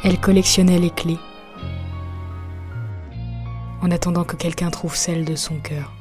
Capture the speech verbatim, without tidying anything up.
Elle collectionnait les clés, en attendant que quelqu'un trouve celle de son cœur.